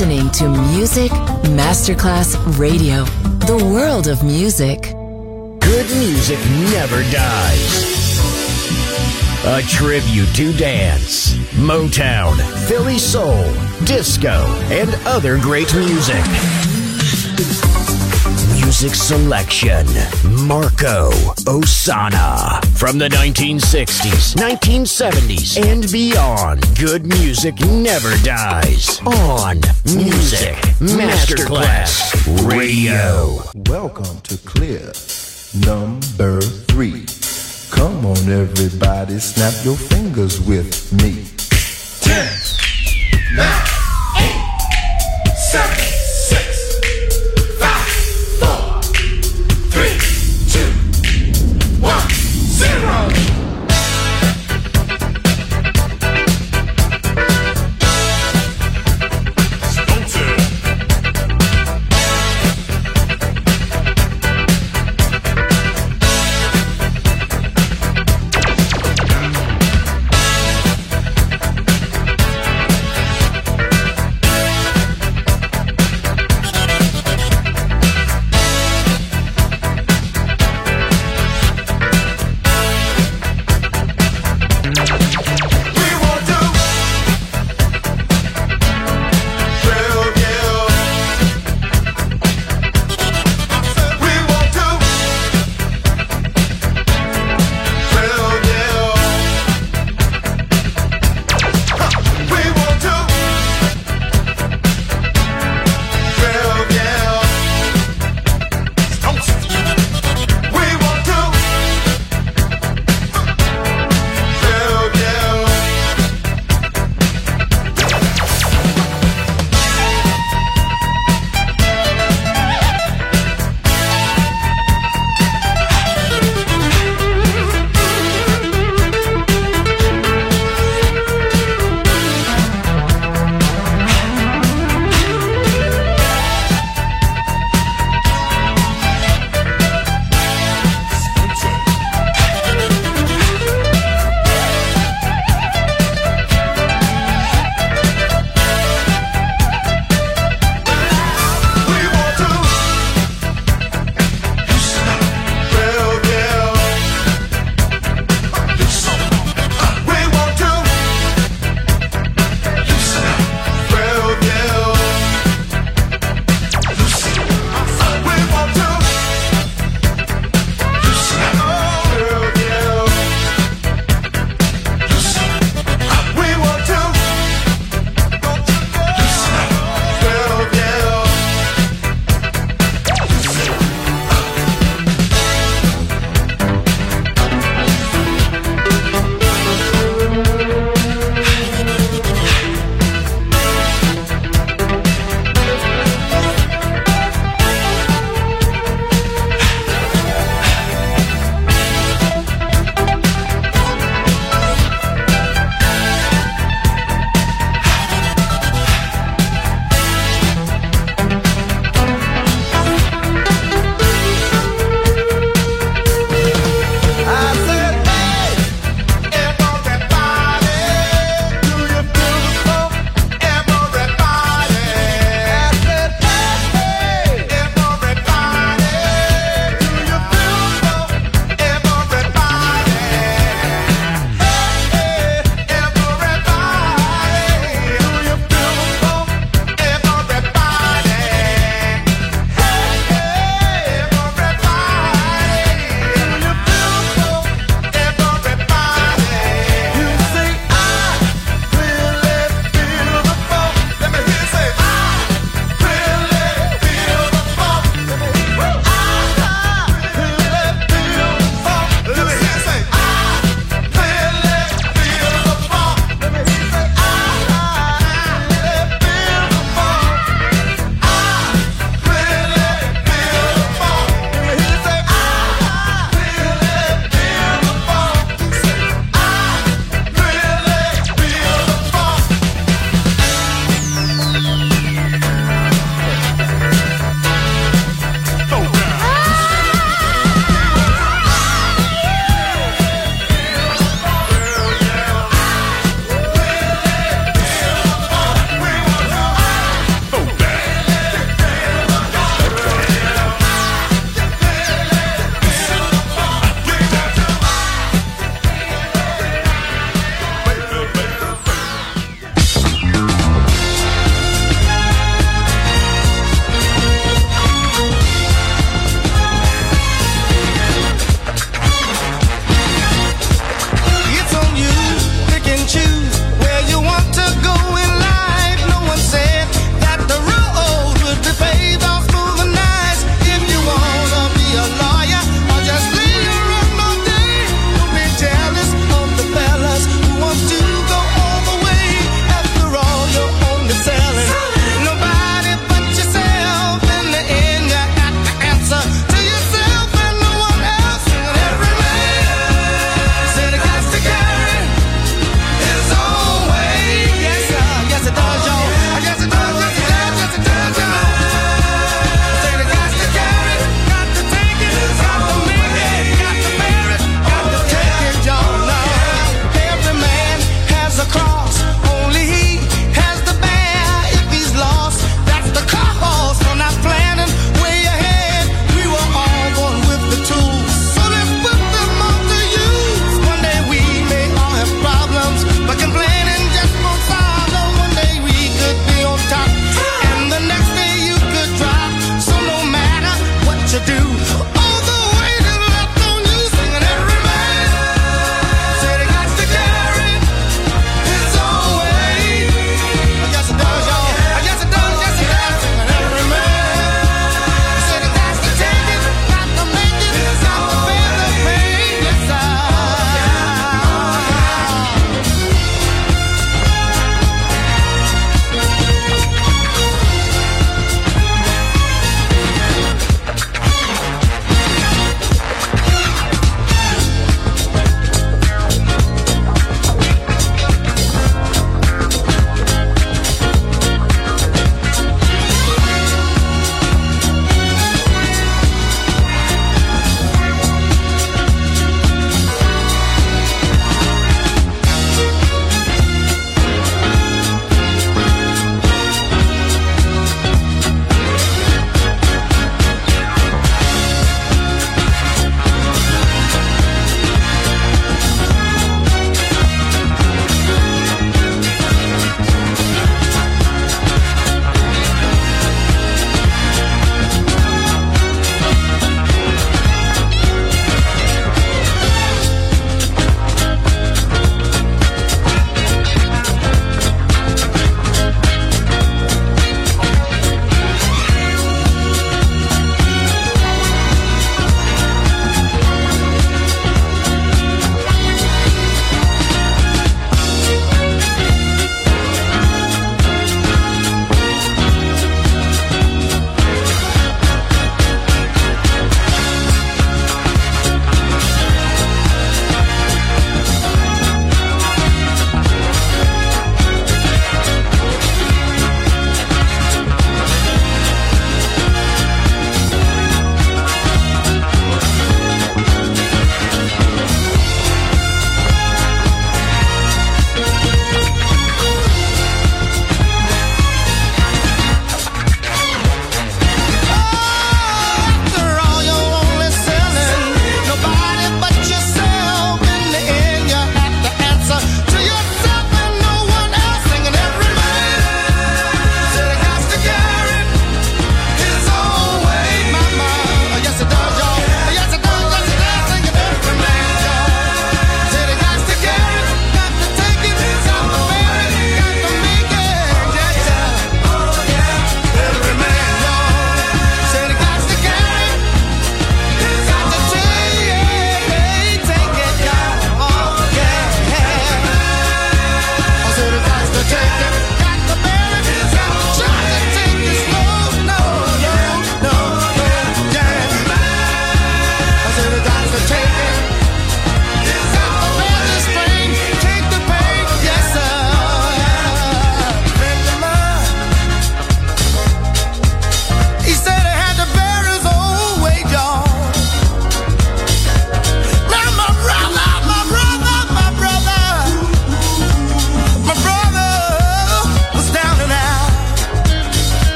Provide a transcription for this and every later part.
listening to Music Masterclass Radio, the world of music. Good music never dies. A tribute to dance, Motown, Philly soul, disco, and other great music. Music selection, Marco Ossanna. From the 1960s, 1970s, and beyond, good music never dies. On Music Masterclass Radio. Welcome to Clear number 3. Come on everybody, snap your fingers with me. 10, 9, 8, 7, 6, 5, 4, 3, 2, 1, 0.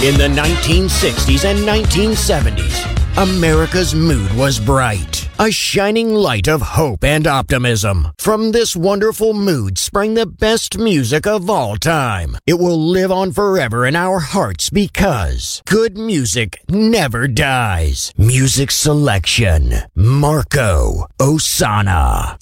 In the 1960s and 1970s, America's mood was bright, a shining light of hope and optimism. From this wonderful mood sprang the best music of all time. It will live on forever in our hearts because good music never dies. Music selection, Marco Ossanna.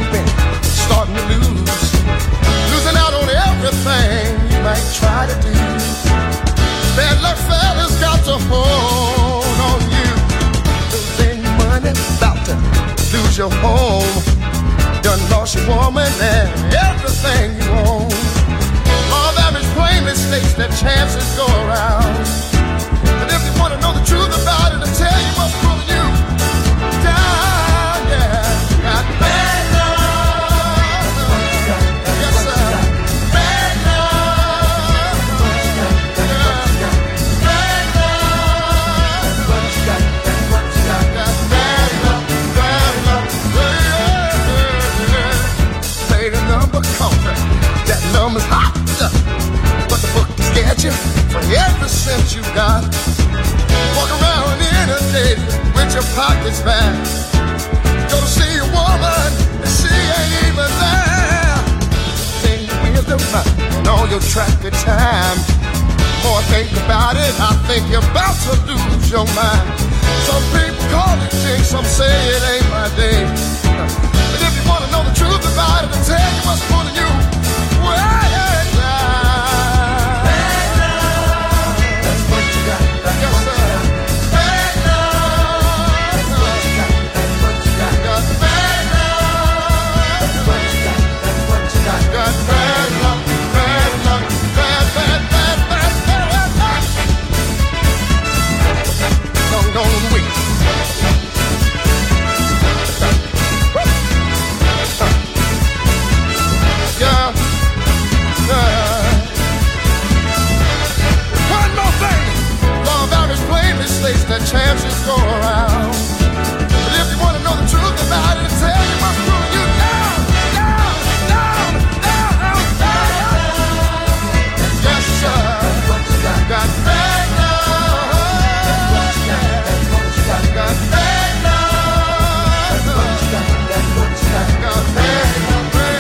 you've been starting to losing out on everything you might try to do. Bad luck fella's got to hold on you. Losing money, about to lose your home. Done lost your woman and everything you own. Law of average plainly states that chances go around. But if you want to know the truth about it, I'll tell you what's pulling you down, yeah. Got bad love. Yes, sir. Bad love. Yeah. Bad love. Got bad love. Bad love. Yeah. Play the number contract. That number's hot. But the book can get you for every cent you got. Walk around inundated with your pockets back. Go to see a woman and she ain't even there. Think with the money and all your traffic time. More I think about it, I think you're about to lose your mind. Some people call it jinx, some say it ain't my day. But if you want to know the truth about it, I'll tell you what's pulling you way down. The chances go around. But if you want to know the truth about it, tell you what's pulling you down, down, down, down, down. Yes, sir. Got bad love. Got bad love. Got bad love.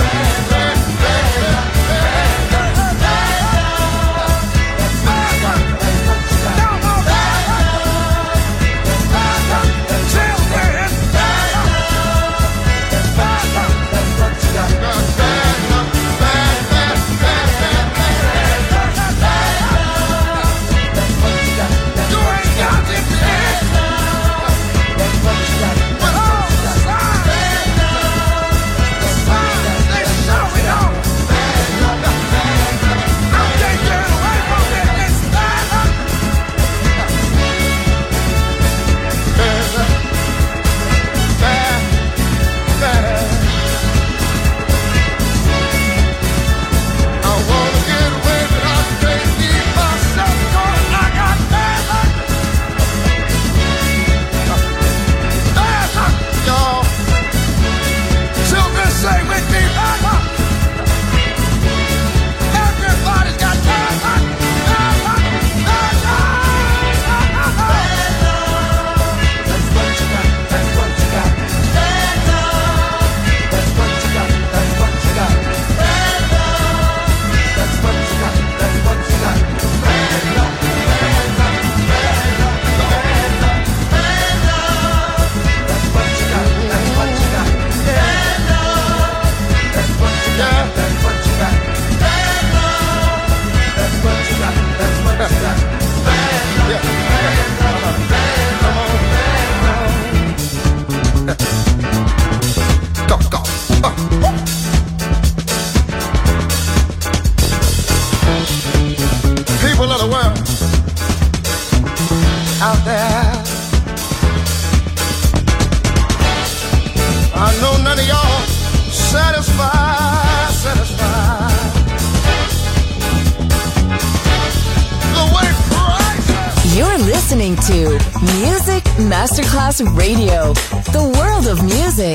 Out there, I know none of y'all satisfied. The way prices. You're listening to Music Masterclass Radio, the world of music.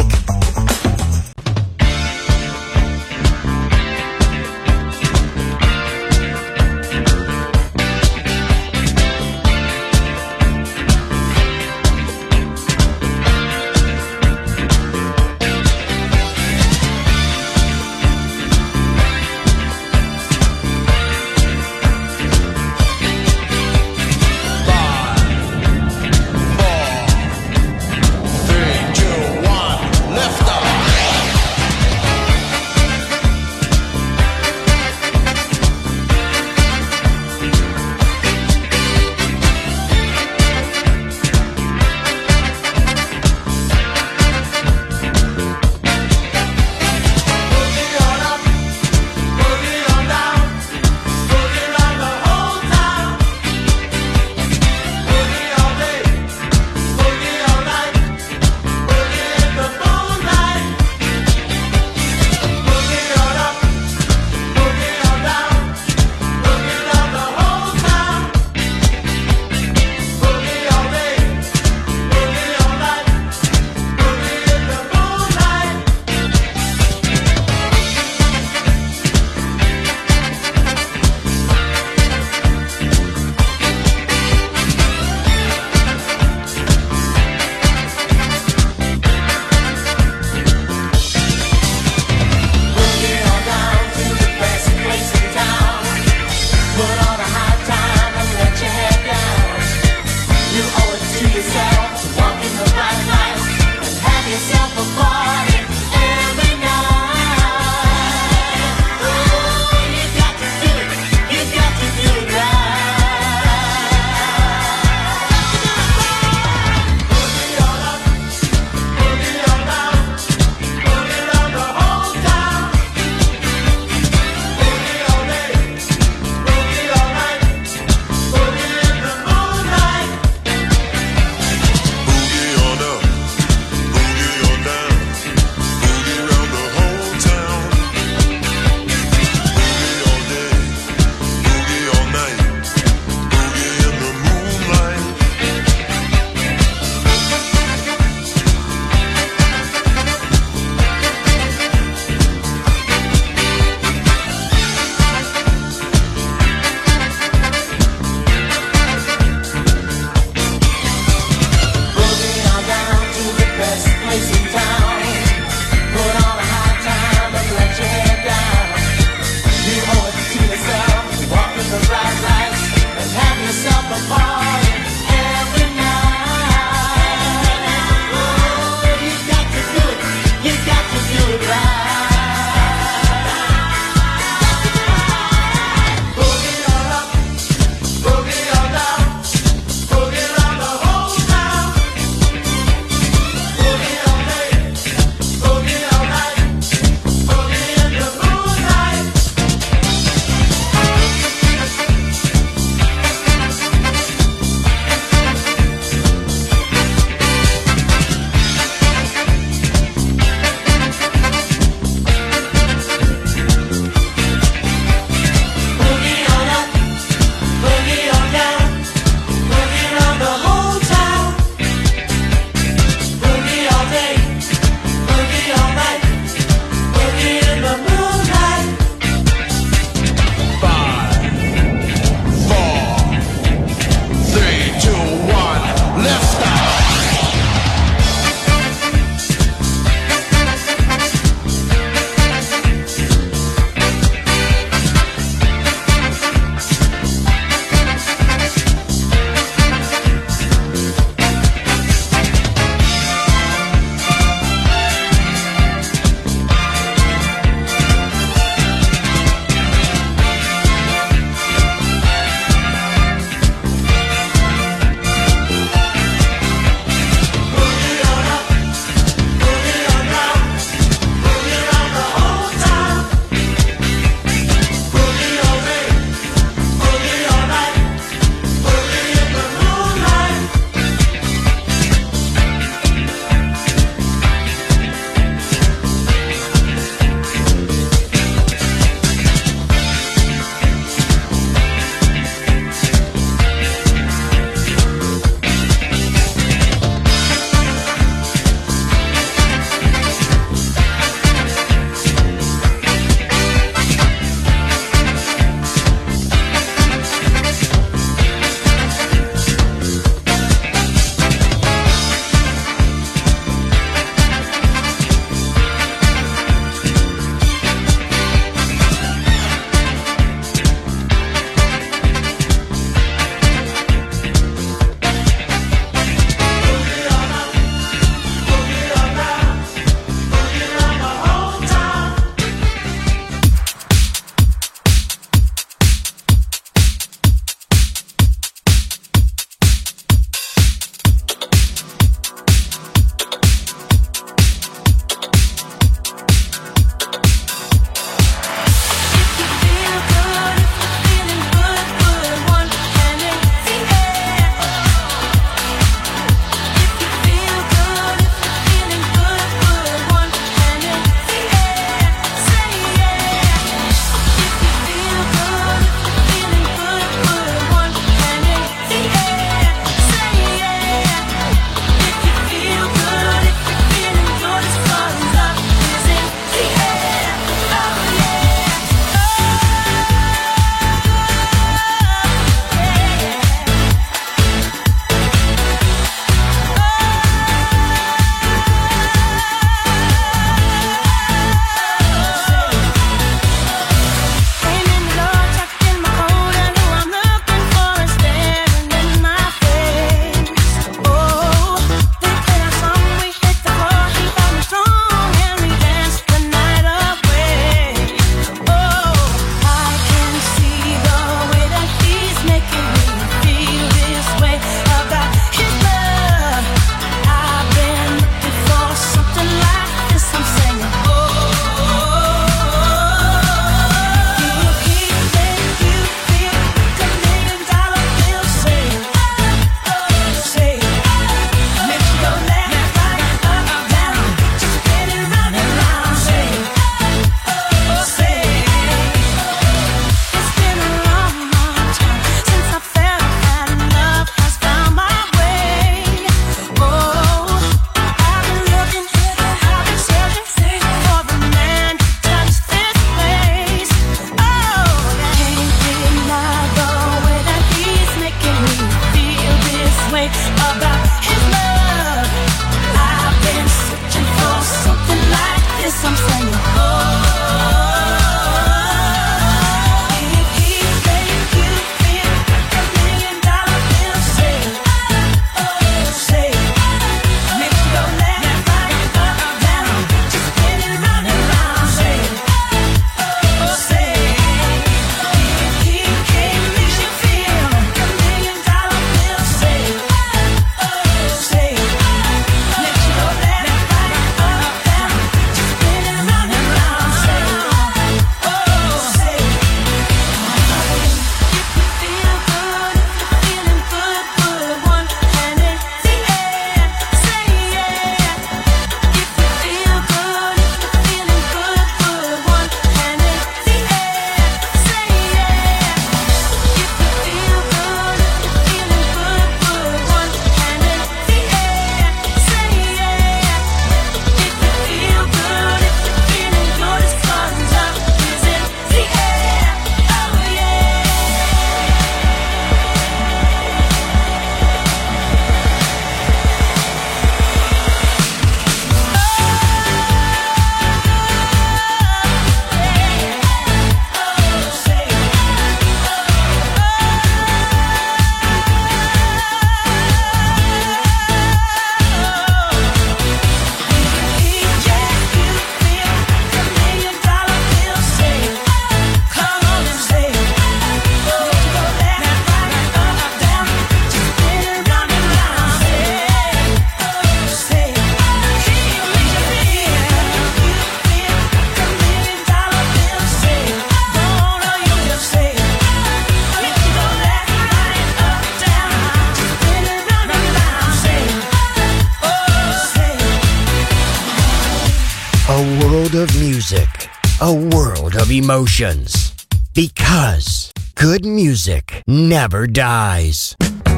music, a world of emotions. Because good music never dies.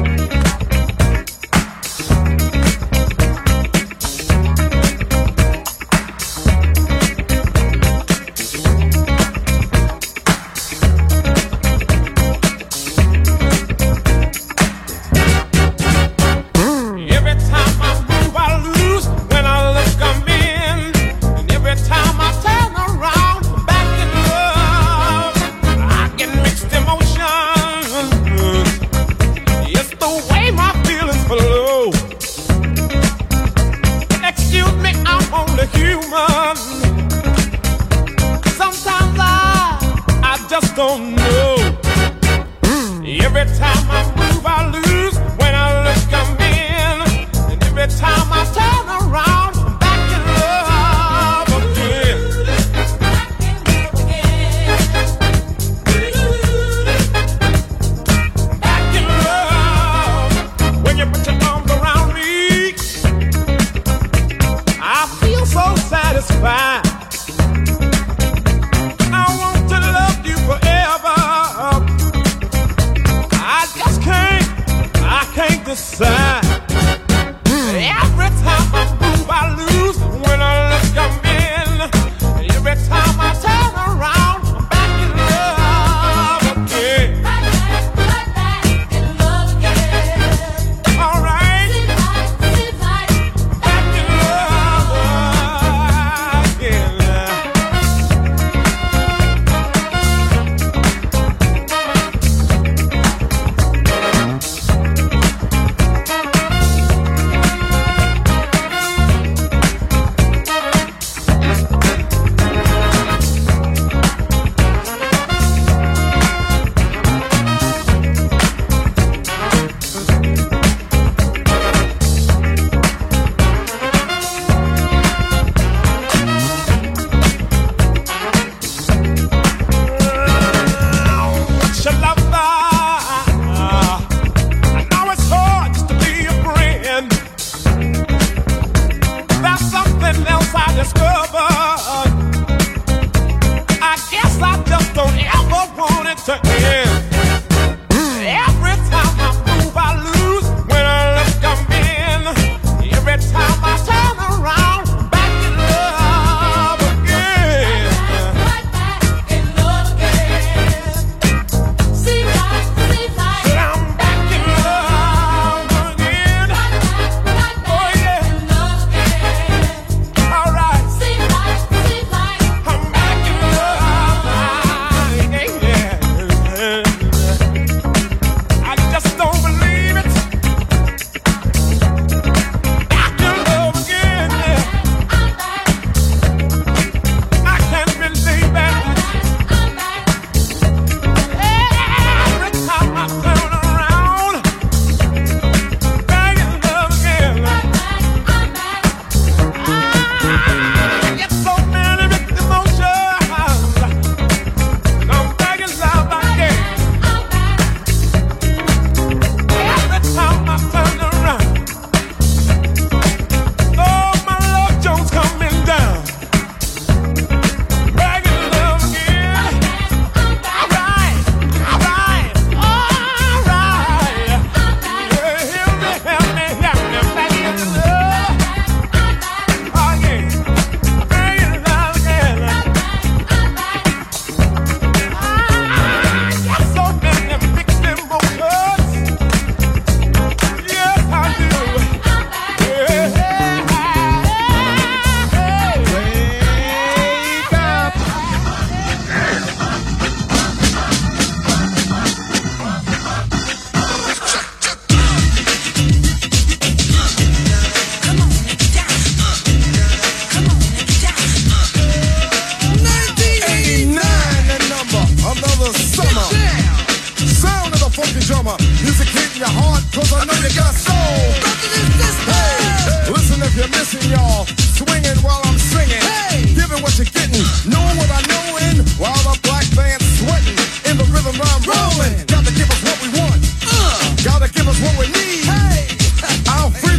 Don't know. Every time I move, I lose. When I look, I'm in. And every time I turn around, I'm back in love again. Back in love. When you put your arms around me, I feel so satisfied. Decide. Every time I move, I lose. When I look, I'm in. Every time I turn around, I'm back in love again. Back in love again. All right. Back in love again.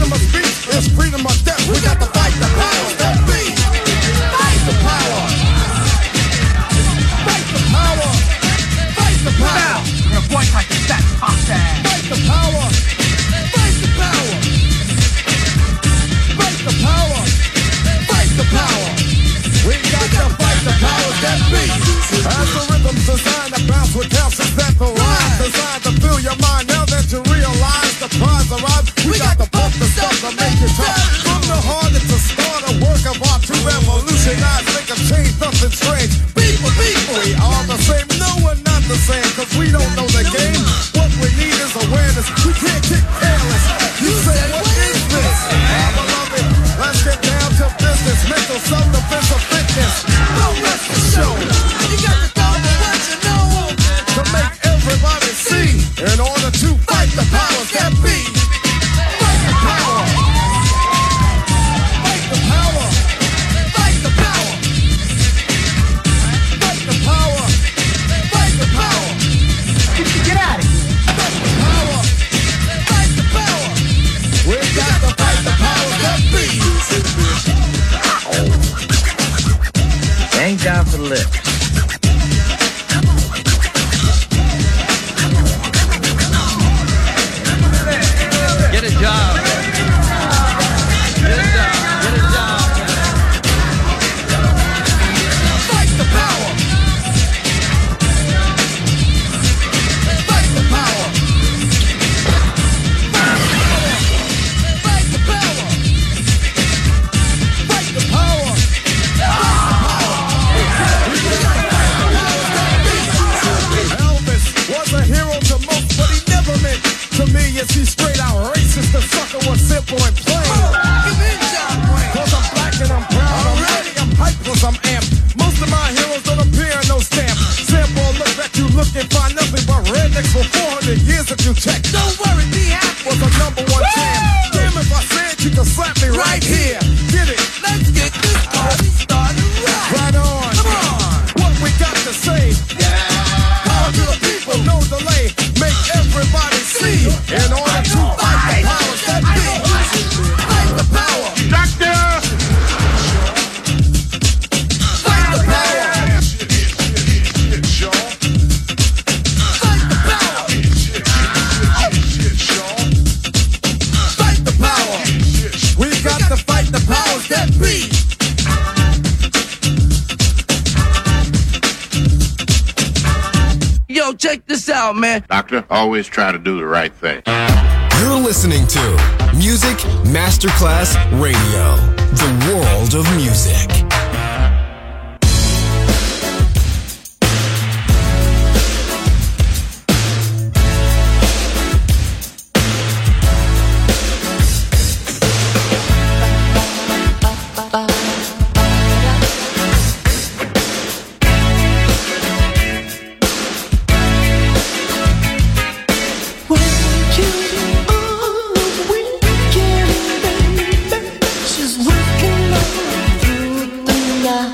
freedom or death. We got to fight the powers that be. Fight the power. something strange. People, we are the same. No, we're not the same, cause we don't know the game. What we need is awareness. We can't get careless. You say, what is this? Ah, beloved, let's get down to business. Mental self-defense of fitness. Don't miss the show. You got to go with what you know to make everybody see. In order to fight the powers that be. Fight the power. Fight the power. Fight the power. Fight the power. Fight the power. Get out of here. Fight the power. Fight the power. We got to fight the powers that be. Thank God for the lift. Get a job. Get a job. Get a job. Fight the power. Fight the power. Fight the power. Fight the power. Elvis was a hero to most, but he never meant to me. Is he straight out racist? The sucker was simple and plain. Cause I'm black and I'm proud. I'm ready, I'm hyped cause I'm amped. Most of my heroes don't appear in no stamp. Sample look that you look and find nothing but rednecks for 400 years if you check. Don't worry, D-Hack was a #1 champ. Damn, if I said you could slap me right here. Get it? Let's get this party started right on. Come on. What we got to say? Power to the people, no delay. Make everybody see. In order to fight the powers that be. Fight the power. Doctor! Fight the power. Fight the power. Fight the power. We got to fight the powers that be. Yo, check this out, man. Doctor, always try to do the right thing. You're listening to Music Masterclass Radio, the world of music. She's working all through the night.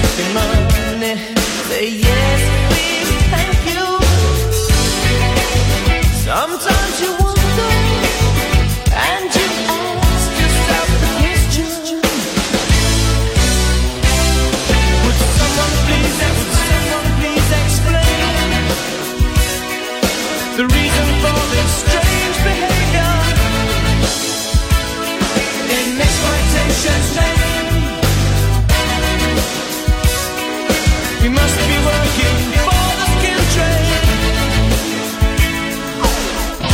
Say yes, please, thank you. Sometimes you wonder and you ask yourself the question, would someone please explain the reason for this strange behavior? In exploitation's name, we must be working for the skill trade.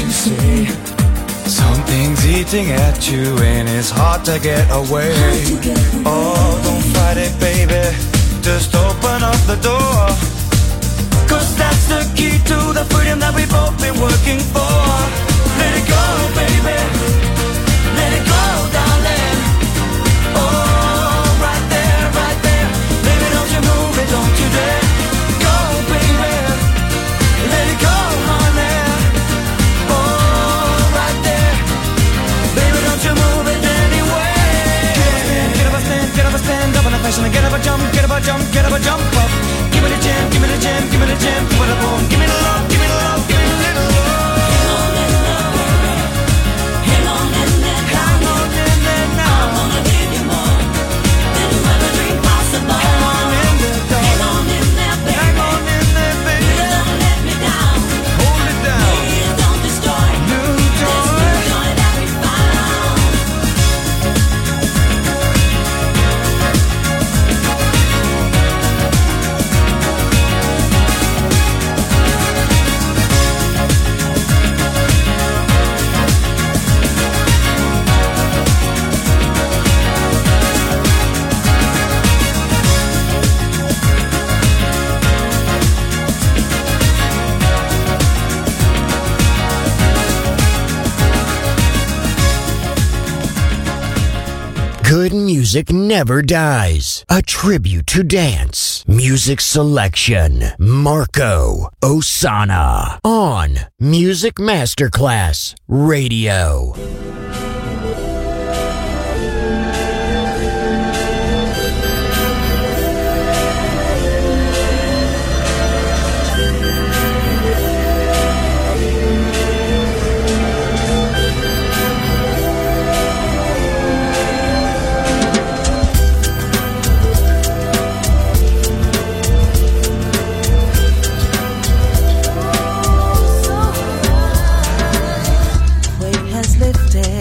you say something's eating at you and it's hard to get away. Oh, don't fight it, baby, just open up the door, 'cause that's the key to the freedom that we've both been working for. Let it go, baby, let it go, darling. Oh, right there, baby, don't you move it, don't you dare. Go, baby, let it go, honey. Oh, right there, baby, don't you move it anyway. Get up a stand up on a fashion, get up a jump, get up a jump, get up a jump up. Give me the jam, give me the jam, give me the jam, give me the boom, give me the love, give me the love, give me the little love. Hang on in there, hang on in there now. I'm gonna give you more than you ever dreamed possible. Hang on in there, darling. Hang on in there, baby. Hang on in there, baby. Please don't let me down. Hold it down. Please don't destroy new joy. This new joy that we found. Good music never dies. A tribute to dance. Music selection. Marco Ossanna. On Music Masterclass Radio. Weight has lifted.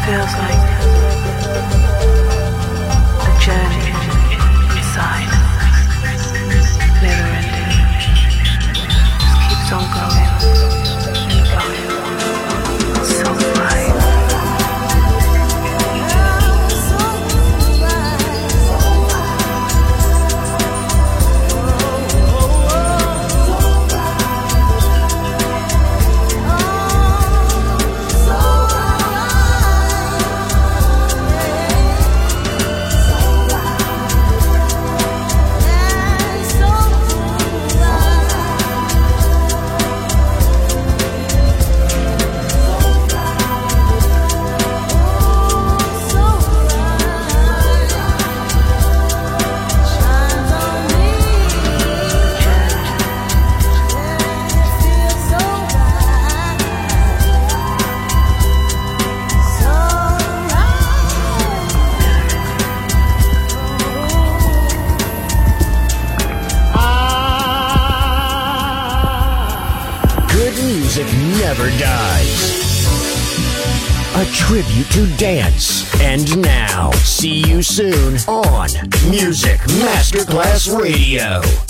feels like the journey inside, never ending, just keeps on going and going, so bright. Never dies. A tribute to dance. And now, see you soon on Music Masterclass Radio.